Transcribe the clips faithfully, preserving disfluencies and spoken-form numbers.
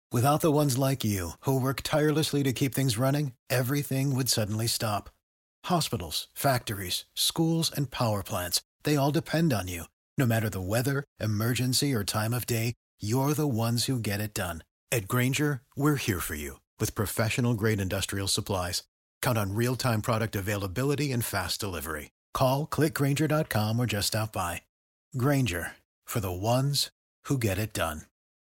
Without the ones like you, who work tirelessly to keep things running, everything would suddenly stop. Hospitals, factories, schools, and power plants, they all depend on you. No matter the weather, emergency, or time of day, you're the ones who get it done. At Grainger, we're here for you with professional-grade industrial supplies. Count on real-time product availability and fast delivery. Call, click grainger dot com or just stop by. Grainger, for the ones who get it done.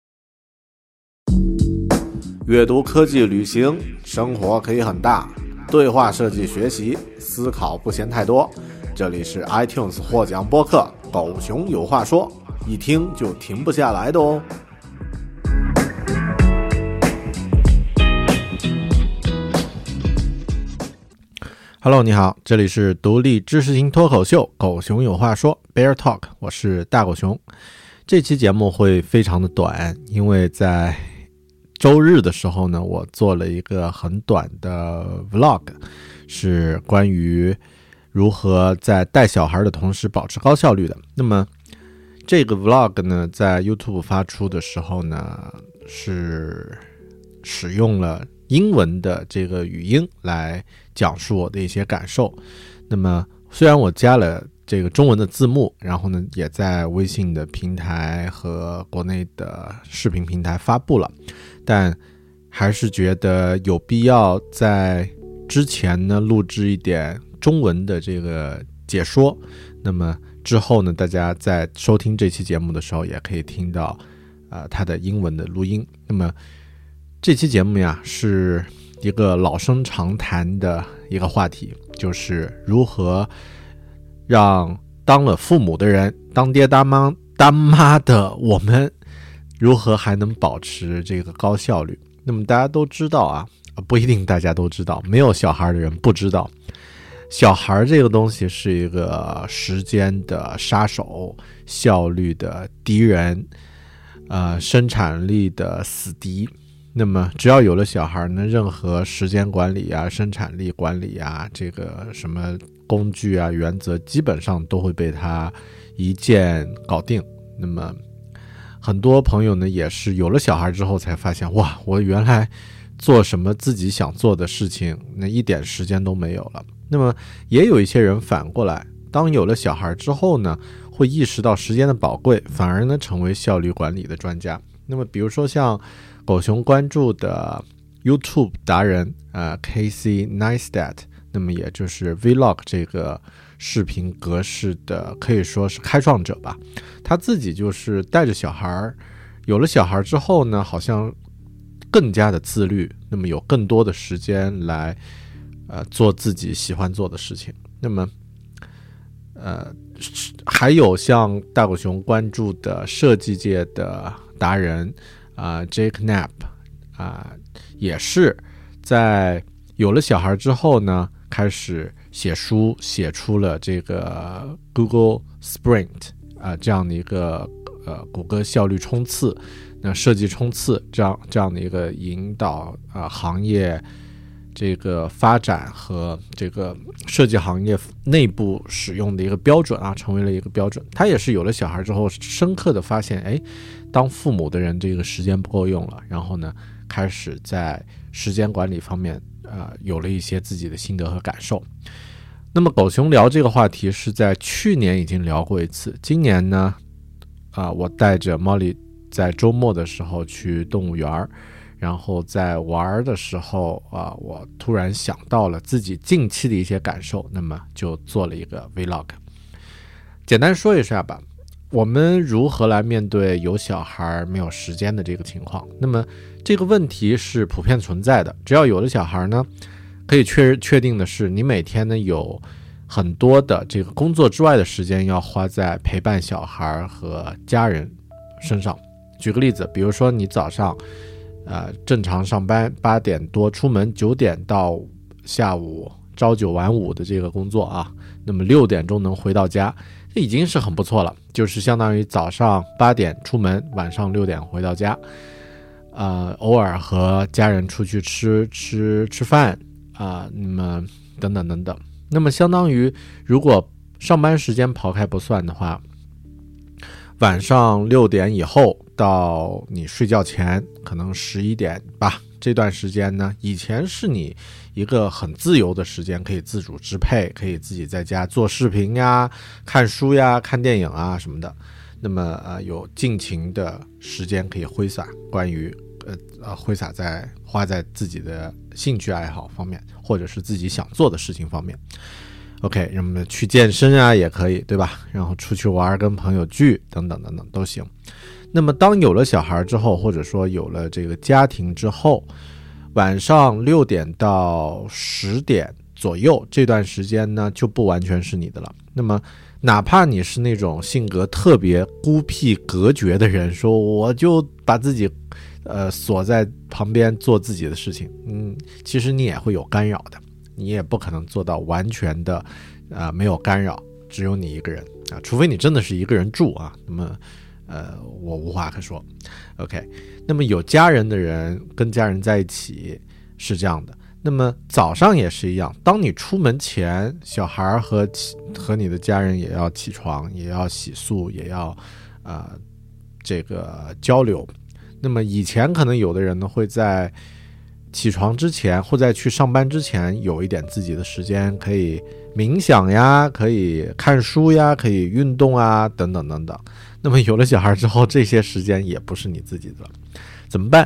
阅读、科技、旅行，生活可以很大。对话设计学习，思考不嫌太多。这里是 iTunes 获奖播客《狗熊有话说》，一听就停不下来的哦。Hello， 你好，这里是独立知识型脱口秀《狗熊有话说》Bear Talk， 我是大狗熊。这期节目会非常的短，因为在周日的时候呢，我做了一个很短的 vlog， 是关于如何在带小孩的同时保持高效率的。那么这个 vlog 呢，在 YouTube 发出的时候呢，是使用了英文的这个语音来讲述我的一些感受。那么虽然我加了这个中文的字幕，然后呢也在微信的平台和国内的视频平台发布了，但还是觉得有必要在之前呢录制一点中文的这个解说。那么之后呢，大家在收听这期节目的时候也可以听到呃它的英文的录音。那么这期节目呀，是一个老生常谈的一个话题，就是如何让当了父母的人，当爹当妈当妈的我们，如何还能保持这个高效率。那么大家都知道啊，不一定大家都知道，没有小孩的人不知道，小孩这个东西是一个时间的杀手，效率的敌人，呃，生产力的死敌。那么只要有了小孩呢，任何时间管理啊、生产力管理啊，这个什么工具啊、原则基本上都会被他一键搞定。那么很多朋友呢也是有了小孩之后才发现，哇，我原来做什么自己想做的事情那一点时间都没有了。那么也有一些人反过来，当有了小孩之后呢，会意识到时间的宝贵，反而呢成为效率管理的专家。那么比如说像狗熊关注的 YouTube 达人呃 Casey Neistat， 那么也就是 Vlog 这个视频格式的可以说是开创者吧。他自己就是带着小孩，有了小孩之后呢，好像更加的自律，那么有更多的时间来呃做自己喜欢做的事情。那么呃还有像大狗熊关注的设计界的达人啊、呃、Jake Knapp 啊、呃，也是在有了小孩之后呢，开始写书，写出了这个 Google Sprint 啊、呃、这样的一个呃谷歌效率冲刺，那设计冲刺这样这样的一个引导啊、呃、行业这个发展和这个设计行业内部使用的一个标准啊，成为了一个标准。他也是有了小孩之后，深刻的发现，哎，当父母的人这个时间不够用了，然后呢，开始在时间管理方面，呃，有了一些自己的心得和感受。那么狗熊聊这个话题是在去年已经聊过一次，今年呢，啊、呃，我带着 Molly 在周末的时候去动物园，然后在玩的时候啊、呃，我突然想到了自己近期的一些感受，那么就做了一个 vlog。简单说一下吧，我们如何来面对有小孩没有时间的这个情况。那么这个问题是普遍存在的，只要有了小孩呢，可以确确定的是，你每天呢有很多的这个工作之外的时间要花在陪伴小孩和家人身上。举个例子，比如说你早上呃，正常上班八点多出门，九点到下午朝九晚五的这个工作啊，那么六点钟能回到家，这已经是很不错了，就是相当于早上八点出门，晚上六点回到家，呃，偶尔和家人出去吃吃吃饭啊、呃，那么等等等等，那么相当于如果上班时间刨开不算的话，晚上六点以后到你睡觉前可能十一点吧，这段时间呢，以前是你一个很自由的时间，可以自主支配，可以自己在家做视频呀、看书呀、看电影啊什么的。那么呃，有尽情的时间可以挥洒，关于呃呃挥洒在花在自己的兴趣爱好方面，或者是自己想做的事情方面。OK， 那么去健身啊也可以，对吧？然后出去玩，跟朋友聚等等等等都行。那么当有了小孩之后，或者说有了这个家庭之后，晚上六点到十点左右这段时间呢，就不完全是你的了。那么哪怕你是那种性格特别孤僻隔绝的人，说我就把自己呃锁在旁边做自己的事情，嗯，其实你也会有干扰的，你也不可能做到完全的呃没有干扰，只有你一个人啊，除非你真的是一个人住啊，那么呃我无话可说。 OK， 那么有家人的人跟家人在一起是这样的。那么早上也是一样，当你出门前，小孩和和你的家人也要起床，也要洗漱，也要呃这个交流。那么以前可能有的人呢会在起床之前或在去上班之前有一点自己的时间，可以冥想呀，可以看书呀，可以运动啊，等等等等。那么有了小孩之后，这些时间也不是你自己的了，怎么办？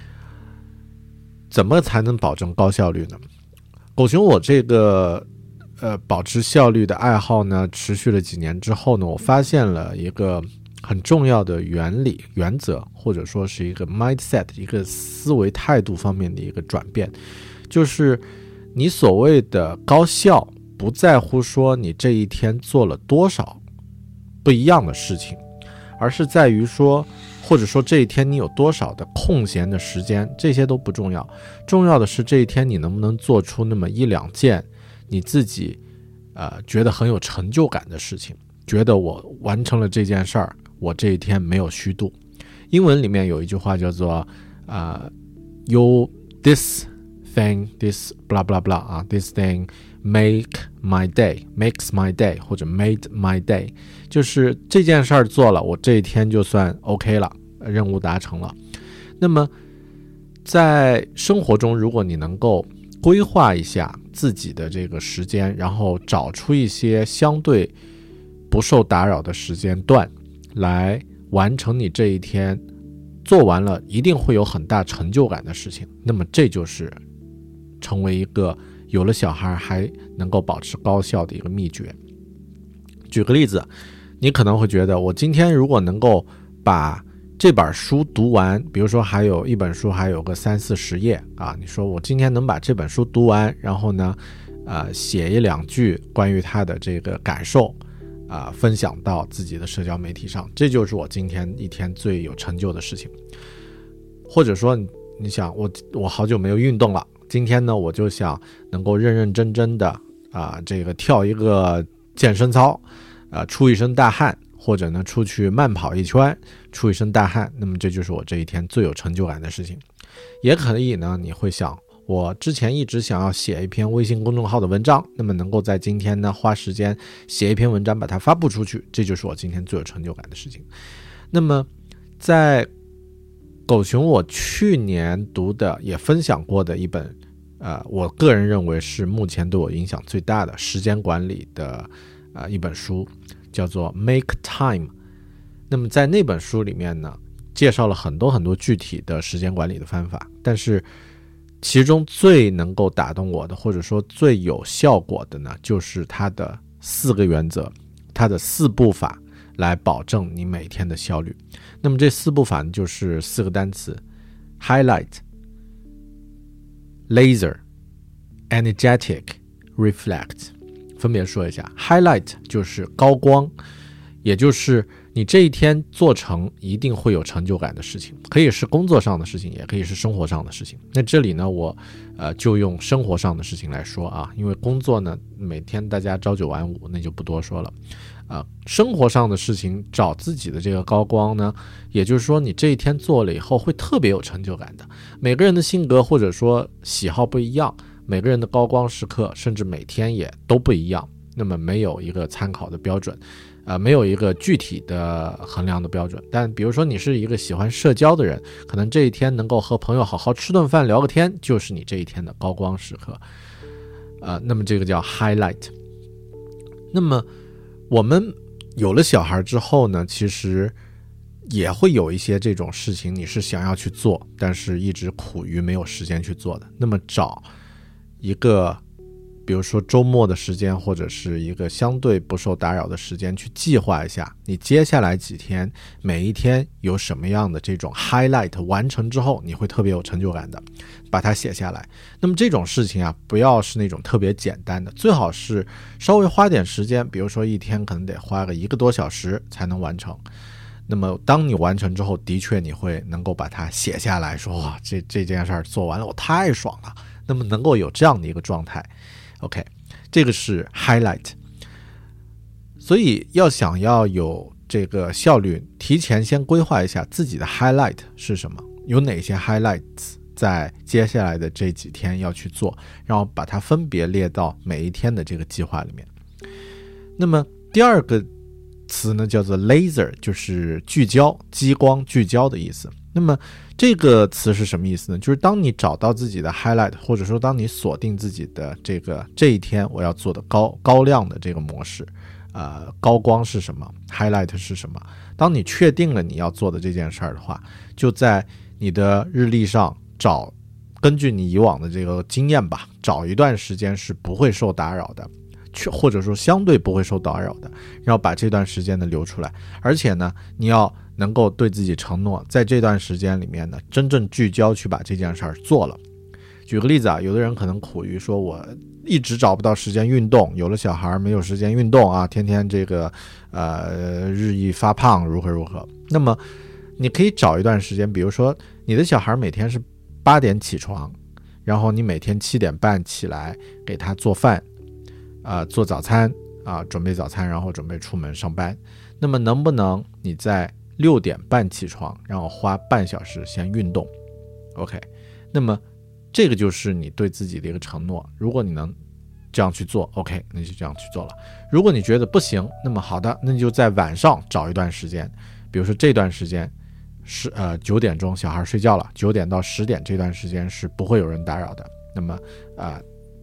怎么才能保证高效率呢？狗熊我这个呃保持效率的爱好呢，持续了几年之后呢，我发现了一个很重要的原理原则，或者说是一个 mindset， 一个思维态度方面的一个转变，就是你所谓的高效不在乎说你这一天做了多少不一样的事情，而是在于说或者说这一天你有多少的空闲的时间，这些都不重要，重要的是这一天你能不能做出那么一两件你自己呃觉得很有成就感的事情，觉得我完成了这件事儿，我这一天没有虚度。英文里面有一句话叫做呃 you this thing this blah blah blah 啊 this thing make my day makes my day 或者 made my day， 就是这件事儿做了，我这一天就算 OK 了，任务达成了。那么在生活中，如果你能够规划一下自己的这个时间，然后找出一些相对不受打扰的时间段来完成你这一天做完了一定会有很大成就感的事情，那么这就是成为一个有了小孩还能够保持高效的一个秘诀。举个例子，你可能会觉得我今天如果能够把这本书读完，比如说还有一本书还有个三四十页啊，你说我今天能把这本书读完，然后呢呃，写一两句关于他的这个感受啊、呃，分享到自己的社交媒体上，这就是我今天一天最有成就的事情。或者说你想我我好久没有运动了，今天呢我就想能够认认真真的啊、呃，这个跳一个健身操啊、呃，出一身大汗，或者呢出去慢跑一圈出一身大汗，那么这就是我这一天最有成就感的事情。也可以呢你会想，我之前一直想要写一篇微信公众号的文章，那么能够在今天呢花时间写一篇文章把它发布出去，这就是我今天最有成就感的事情。那么在狗熊我去年读的也分享过的一本呃，我个人认为是目前对我影响最大的时间管理的呃一本书，叫做 Make Time。 那么在那本书里面呢介绍了很多很多具体的时间管理的方法，但是其中最能够打动我的，或者说最有效果的呢，就是它的四个原则，它的四步法来保证你每天的效率。那么这四步法就是四个单词 highlight laser energetic reflect， 分别说一下。 highlight 就是高光，也就是你这一天做成一定会有成就感的事情，可以是工作上的事情，也可以是生活上的事情。那这里呢我呃就用生活上的事情来说啊，因为工作呢每天大家朝九晚五，那就不多说了啊、呃。生活上的事情找自己的这个高光呢，也就是说你这一天做了以后会特别有成就感的。每个人的性格或者说喜好不一样，每个人的高光时刻甚至每天也都不一样。 那么没有一个参考的标准，呃，没有一个具体的衡量的标准。但比如说你是一个喜欢社交的人，可能这一天能够和朋友好好吃顿饭聊个天，就是你这一天的高光时刻，呃，那么这个叫 highlight。 那么我们有了小孩之后呢，其实也会有一些这种事情你是想要去做，但是一直苦于没有时间去做的。那么找一个比如说周末的时间，或者是一个相对不受打扰的时间，去计划一下你接下来几天每一天有什么样的这种 highlight， 完成之后你会特别有成就感的，把它写下来。那么这种事情啊，不要是那种特别简单的，最好是稍微花点时间，比如说一天可能得花个一个多小时才能完成。那么当你完成之后，的确你会能够把它写下来，说哇，这这件事儿做完了，我太爽了。那么能够有这样的一个状态 OK， 这个是 highlight。 所以要想要有这个效率，提前先规划一下自己的 highlight 是什么，有哪些 highlights 在接下来的这几天要去做，然后把它分别列到每一天的这个计划里面。那么第二个词呢叫做 laser， 就是聚焦，激光聚焦的意思。那么这个词是什么意思呢？就是当你找到自己的 highlight， 或者说当你锁定自己的这个这一天我要做的高高亮的这个模式，呃，高光是什么， highlight 是什么，当你确定了你要做的这件事儿的话，就在你的日历上找，根据你以往的这个经验吧，找一段时间是不会受打扰的，或者说相对不会受打扰的，然后把这段时间呢留出来。而且呢，你要能够对自己承诺，在这段时间里面呢，真正聚焦去把这件事儿做了。举个例子啊，有的人可能苦于说我一直找不到时间运动，有了小孩没有时间运动啊，天天这个呃日益发胖，如何如何。那么你可以找一段时间，比如说你的小孩每天是八点起床，然后你每天七点半起来给他做饭，呃，做早餐啊，准备早餐，然后准备出门上班。那么能不能你在六点半起床，然后花半小时先运动 ？OK， 那么这个就是你对自己的一个承诺。如果你能这样去做 ，OK， 那就这样去做了。如果你觉得不行，那么好的，那你就在晚上找一段时间，比如说这段时间是呃九点钟小孩睡觉了，九点到十点这段时间是不会有人打扰的。那么呃。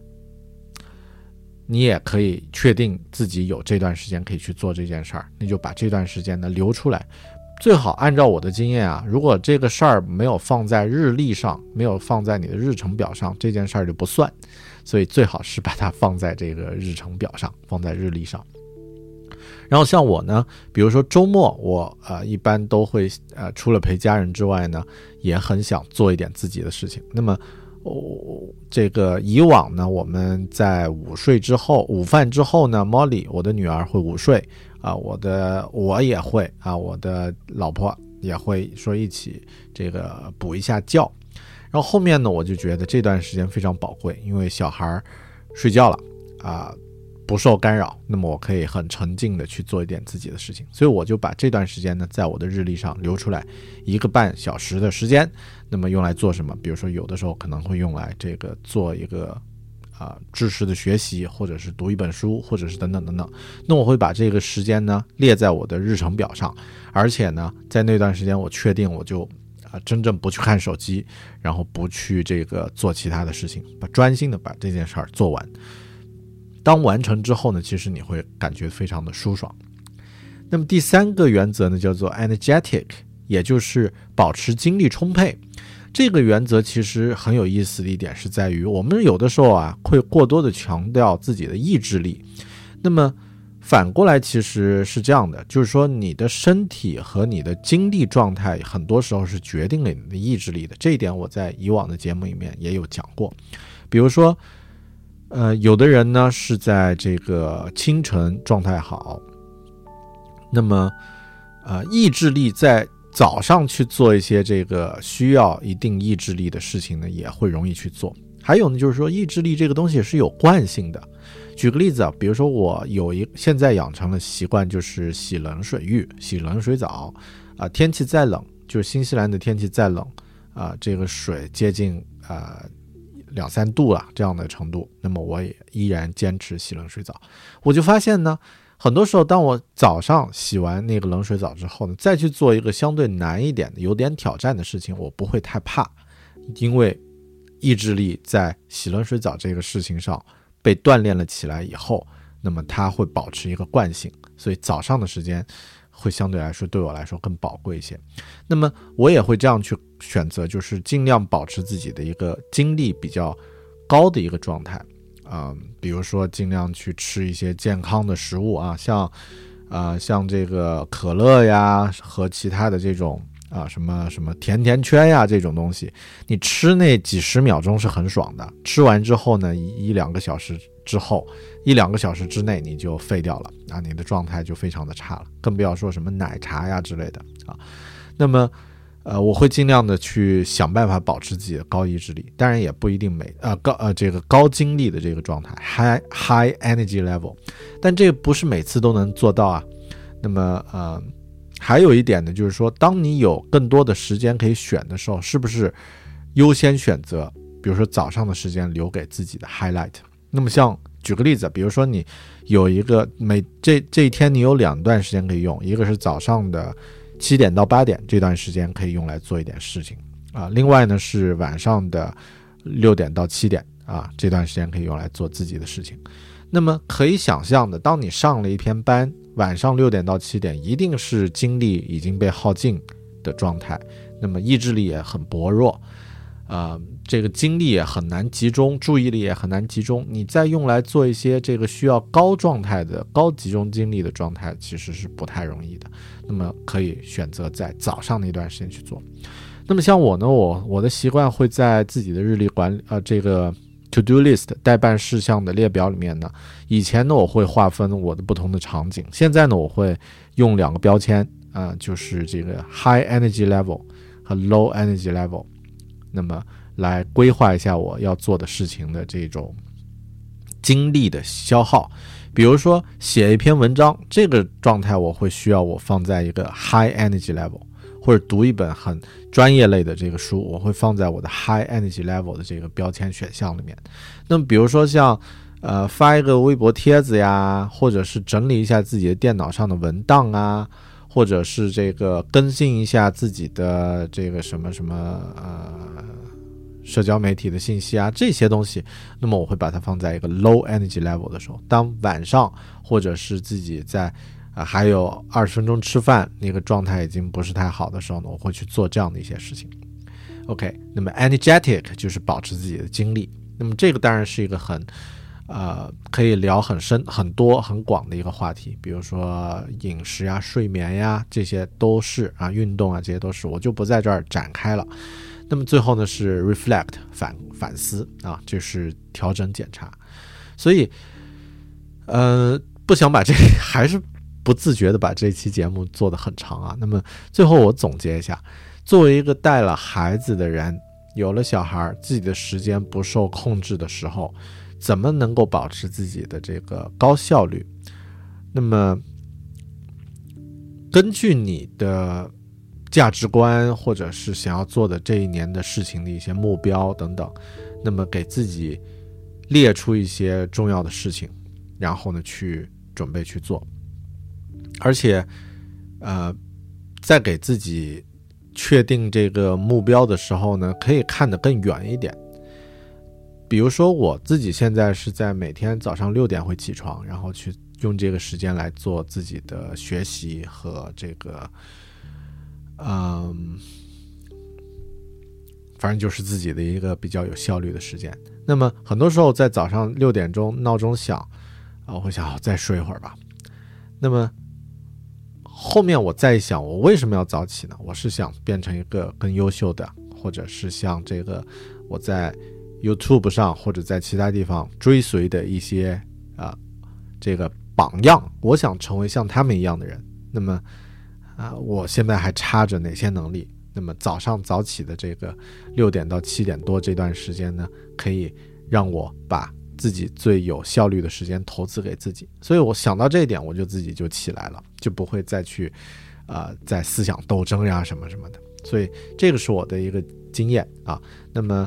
你也可以确定自己有这段时间可以去做这件事儿，那就把这段时间呢留出来。最好按照我的经验啊，如果这个事儿没有放在日历上，没有放在你的日程表上，这件事儿就不算。所以最好是把它放在这个日程表上，放在日历上。然后像我呢，比如说周末我呃一般都会呃除了陪家人之外呢，也很想做一点自己的事情。那么哦，这个以往呢，我们在午睡之后，午饭之后呢 ，Molly 我的女儿会午睡啊，我的我也会啊，我的老婆也会说一起这个补一下觉。然后后面呢，我就觉得这段时间非常宝贵，因为小孩睡觉了啊，不受干扰，那么我可以很沉静的去做一点自己的事情。所以我就把这段时间呢，在我的日历上留出来一个半小时的时间。那么用来做什么？比如说有的时候可能会用来这个做一个啊、呃、知识的学习，或者是读一本书，或者是等等等等。那我会把这个时间呢列在我的日程表上，而且呢在那段时间我确定我就啊、呃、真正不去看手机，然后不去这个做其他的事情，把专心的把这件事儿做完。当完成之后呢，其实你会感觉非常的舒爽。那么第三个原则呢叫做 energetic， 也就是保持精力充沛。这个原则其实很有意思的一点是在于，我们有的时候啊会过多的强调自己的意志力。那么反过来其实是这样的，就是说你的身体和你的精力状态很多时候是决定了你的意志力的。这一点我在以往的节目里面也有讲过。比如说呃，有的人呢是在这个清晨状态好，那么呃意志力在早上去做一些这个需要一定意志力的事情呢，也会容易去做。还有呢，就是说意志力这个东西是有惯性的。举个例子啊，比如说我有一现在养成了习惯，就是洗冷水浴、洗冷水澡啊、呃。天气再冷，就是新西兰的天气再冷啊、呃，这个水接近啊、呃、 两三度了这样的程度，那么我也依然坚持洗冷水澡。我就发现呢，很多时候当我早上洗完那个冷水澡之后呢，再去做一个相对难一点的有点挑战的事情，我不会太怕，因为意志力在洗冷水澡这个事情上被锻炼了起来以后，那么它会保持一个惯性，所以早上的时间会相对来说对我来说更宝贵一些。那么我也会这样去选择，就是尽量保持自己的一个精力比较高的一个状态啊、呃，比如说尽量去吃一些健康的食物啊，像啊、呃、像这个可乐呀和其他的这种啊什么什么甜甜圈呀这种东西，你吃那几十秒钟是很爽的，吃完之后呢，一一两个小时之后，一两个小时之内你就废掉了啊，你的状态就非常的差了，更不要说什么奶茶呀之类的啊。那么呃，我会尽量的去想办法保持自己的高意志力，当然也不一定每呃高呃这个高精力的这个状态 high high energy level， 但这个不是每次都能做到啊。那么呃还有一点呢，就是说当你有更多的时间可以选的时候，是不是优先选择比如说早上的时间留给自己的 highlight。 那么像举个例子，比如说你有一个每这这一天你有两段时间可以用，一个是早上的七点到八点，这段时间可以用来做一点事情啊。另外呢是晚上的六点到七点啊，这段时间可以用来做自己的事情。那么可以想象的，当你上了一天班，晚上六点到七点一定是精力已经被耗尽的状态，那么意志力也很薄弱，呃，这个精力也很难集中，注意力也很难集中，你再用来做一些这个需要高状态的高集中精力的状态其实是不太容易的。那么可以选择在早上那段时间去做。那么像我呢，我我的习惯会在自己的日历管理呃这个 to do list 待办事项的列表里面呢，以前呢我会划分我的不同的场景，现在呢我会用两个标签啊、呃，就是这个 high energy level 和 low energy level， 那么来规划一下我要做的事情的这种精力的消耗。比如说写一篇文章，这个状态我会需要我放在一个 high energy level， 或者读一本很专业类的这个书，我会放在我的 high energy level 的这个标签选项里面。那么比如说像呃发一个微博帖子呀，或者是整理一下自己的电脑上的文档啊，或者是这个更新一下自己的这个什么什么呃社交媒体的信息啊，这些东西，那么我会把它放在一个 low energy level 的时候。当晚上或者是自己在、呃、还有二十分钟吃饭，那个状态已经不是太好的时候呢，我会去做这样的一些事情。 OK， 那么 energetic 就是保持自己的精力。那么这个当然是一个很呃可以聊很深很多很广的一个话题，比如说饮食呀、睡眠呀，这些都是啊，运动啊，这些都是，我就不在这儿展开了。那么最后呢是 reflect 反反思啊，就是调整检查。所以呃不想把这还是不自觉的把这期节目做得很长啊。那么最后我总结一下，作为一个带了孩子的人，有了小孩，自己的时间不受控制的时候，怎么能够保持自己的这个高效率？那么根据你的价值观或者是想要做的这一年的事情的一些目标等等，那么给自己列出一些重要的事情，然后呢去准备去做。而且呃在给自己确定这个目标的时候呢，可以看得更远一点。比如说我自己现在是在每天早上六点会起床，然后去用这个时间来做自己的学习和这个嗯，反正就是自己的一个比较有效率的时间。那么很多时候在早上六点钟闹钟响啊，我会想、哦、再睡一会儿吧。那么后面我再想，我为什么要早起呢？我是想变成一个更优秀的，或者是像这个我在 YouTube 上或者在其他地方追随的一些啊、呃、这个榜样，我想成为像他们一样的人。那么啊，我现在还差着哪些能力？那么早上早起的这个六点到七点多这段时间呢，可以让我把自己最有效率的时间投资给自己。所以我想到这一点，我就自己就起来了，就不会再去呃在思想斗争呀什么什么的。所以这个是我的一个经验啊。那么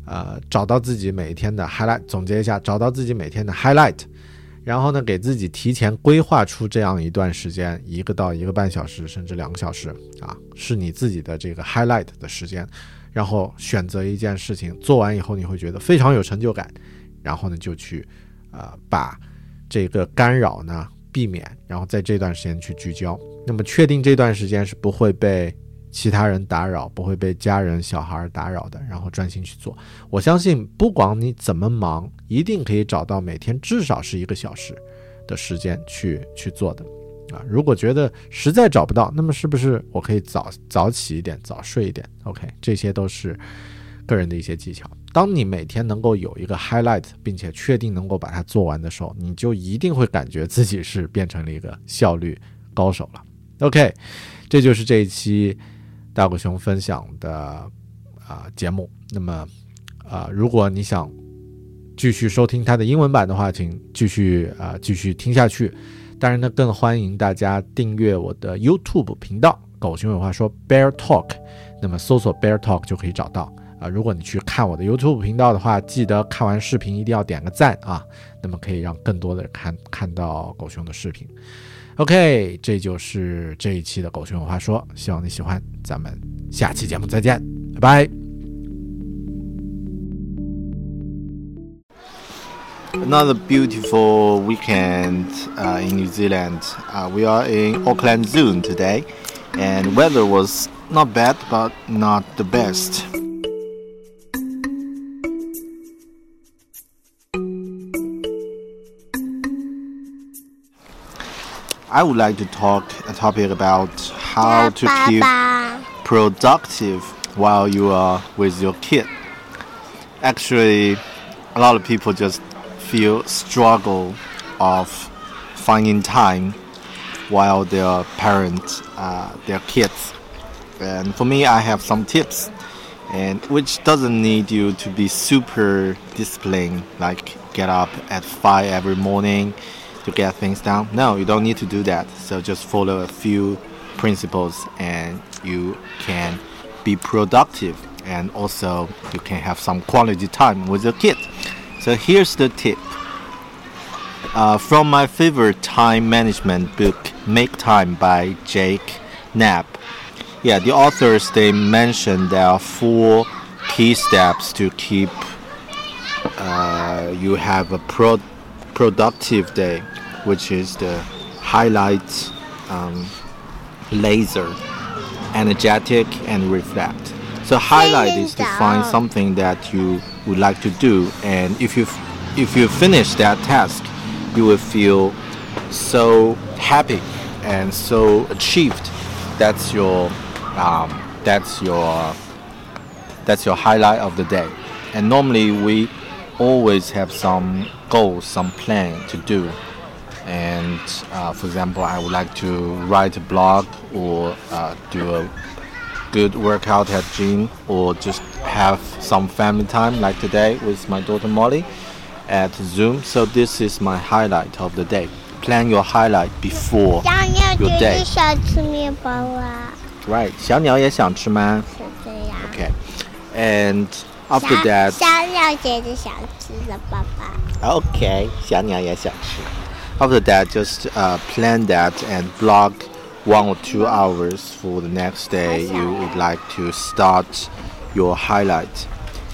呃，找到自己每一天的 highlight， 总结一下，找到自己每天的 highlight， 然后呢，给自己提前规划出这样一段时间，一个到一个半小时，甚至两个小时啊，是你自己的这个 highlight 的时间，然后选择一件事情，做完以后你会觉得非常有成就感，然后呢，就去呃把这个干扰呢避免，然后在这段时间去聚焦。那么确定这段时间是不会被其他人打扰，不会被家人小孩打扰的，然后专心去做。我相信不管你怎么忙，一定可以找到每天至少是一个小时的时间去去做的啊。如果觉得实在找不到，那么是不是我可以早早起一点，早睡一点 OK， 这些都是个人的一些技巧。当你每天能够有一个 highlight， 并且确定能够把它做完的时候，你就一定会感觉自己是变成了一个效率高手了。 OK， 这就是这一期大狗熊分享的啊、呃、节目。那么啊、呃，如果你想继续收听它的英文版的话，请继续啊、呃、继续听下去。当然呢，更欢迎大家订阅我的 YouTube 频道狗熊有话说 Bear Talk， 那么搜索 Bear Talk 就可以找到啊、呃。如果你去看我的 YouTube 频道的话，记得看完视频一定要点个赞啊，那么可以让更多的人看看到狗熊的视频。OK， 这就是这一期的狗熊有话说，希望你喜欢，咱们下期节目再见，拜拜。 Another beautiful weekend uh, in New Zealand. Uh, we are in Auckland Zoo today, and weather was not bad, but not the best. I would like to talk a topic about how to keep productive while you are with your kid. Actually, a lot of people just feel struggle of finding time while their parents, uh, their kids. And for me, I have some tips, and which doesn't need you to be super disciplined, like get up at five every morning to get things done. No, you don't need to do that. So just follow a few principles and you can be productive, and also you can have some quality time with your kid. So here's the tip. Uh, from my favorite time management book, Make Time by Jake Knapp. Yeah, the authors, they mentioned there are four key steps to keep uh, you have a pro- productive day, which is the highlight, um, laser, energetic, and reflect. So highlight is to find something that you would like to do, and if you if you finish that task, you will feel so happy and so achieved. That's your um, that's your that's your highlight of the day. And normally we always have some goals, some plan to do. And uh, for example, I would like to write a blog, or uh, do a good workout at gym, or just have some family time like today with my daughter Molly at Zoom. So this is my highlight of the day. Plan your highlight before your day. 想吃面包啊 Right. 小鸟也想吃吗？ 是这样 Okay. And after that, 小鸟姐姐想吃了爸爸 okay, 小鸟也想吃。After that, just uh, plan that and block one or two hours for the next day you would like to start your highlight.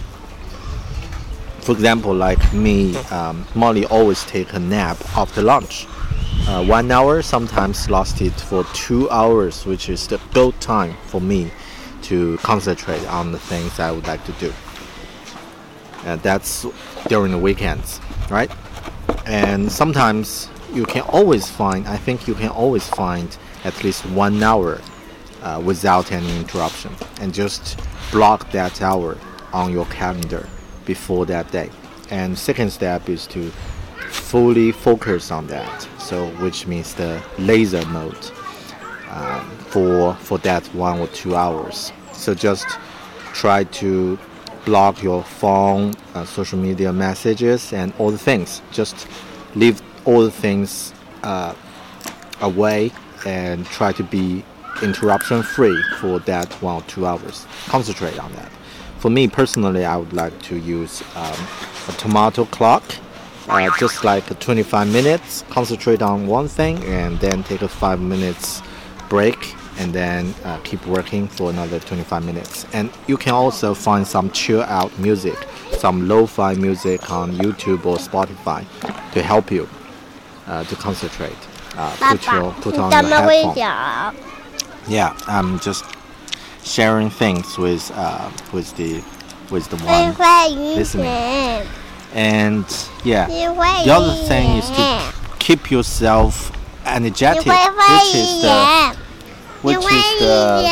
For example, like me, um, Molly always take a nap after lunch. Uh, one hour sometimes lasted for two hours, which is the gold time for me to concentrate on the things I would like to do. And that's during the weekends, right? And sometimes you can always find, I think you can always find at least one hour uh, without any interruption, and just block that hour on your calendar before that day. And second step is to fully focus on that, so which means the laser mode um, for for that one or two hours. So just try to block your phone, uh, social media messages, and all the things. Just leave all the things uh, away and try to be interruption free for that one or two hours. Concentrate on that. for me personally, I would like to use um, a tomato clock, uh, just like twenty-five minutes, concentrate on one thing, and then take a five minutes break, and then uh, keep working for another twenty-five minutes. And you can also find some chill out music, some lo-fi music on YouTube or Spotify to help you uh, to concentrate. Uh, put your, put on your headphone. Yeah, I'm just sharing things with uh, with the with the one listening. And yeah, the other thing is to keep yourself energetic, which is the which is the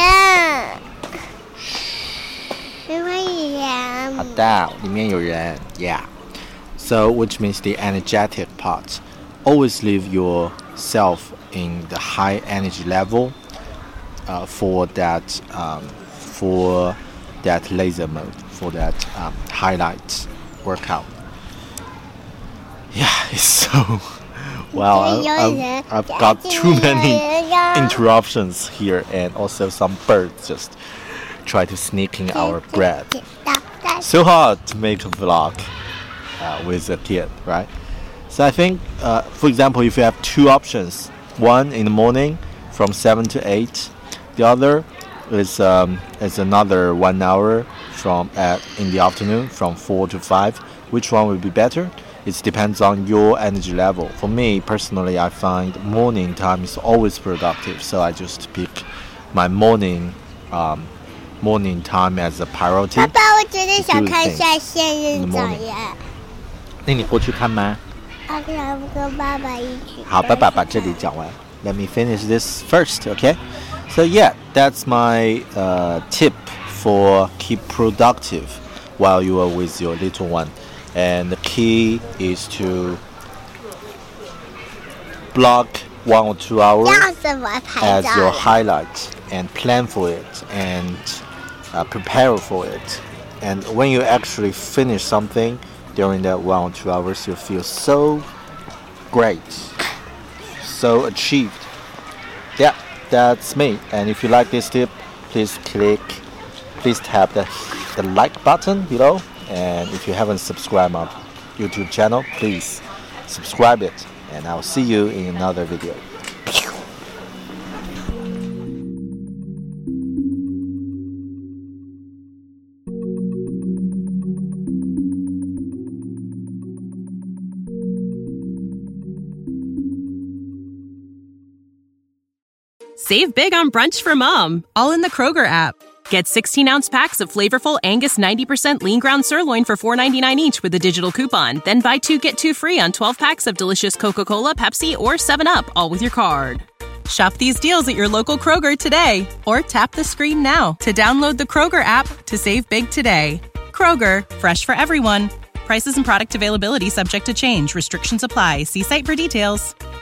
好的，里面有人 yeah. So which means the energetic part. Always leave yourself in the high energy level uh, for that um, for that laser mode, for that um, highlight workout. Yeah, it's so well. I've, I've got too many interruptions here, and also some birds just try to sneak in our bread. So hard to make a vlog uh, with a kid, right? So I think, uh, for example, if you have two options, one in the morning from seven to eight, the other is um, is another one hour from at in the afternoon from four to five. Which one would be better? It depends on your energy level. For me personally, I find morning time is always productive, so I just pick my morning um, morning time as a priority. 爸爸，我真的想看下仙人掌耶。 那你过去看吗？ 我想跟爸爸一起。 好，爸爸把这里讲完。Let me finish this first, okay? So yeah, that's my uh, tip for keep productive while you are with your little one. And the key is to block one or two hours as your highlight and plan for it and uh, prepare for it. And when you actually finish something during that one or two hours, you feel so great, so achieved. Yeah, that's me. And if you like this tip, please click, please tap the, the like button below. And if you haven't subscribed my YouTube channel, please subscribe it. And I'll see you in another video. Save big on brunch for mom, all in the Kroger app. Get sixteen-ounce packs of flavorful Angus ninety percent lean ground sirloin for four ninety-nine each with a digital coupon. Then buy two, get two free on twelve packs of delicious Coca-Cola, Pepsi, or seven up, all with your card. Shop these deals at your local Kroger today, or tap the screen now to download the Kroger app to save big today. Kroger, fresh for everyone. Prices and product availability subject to change. Restrictions apply. See site for details.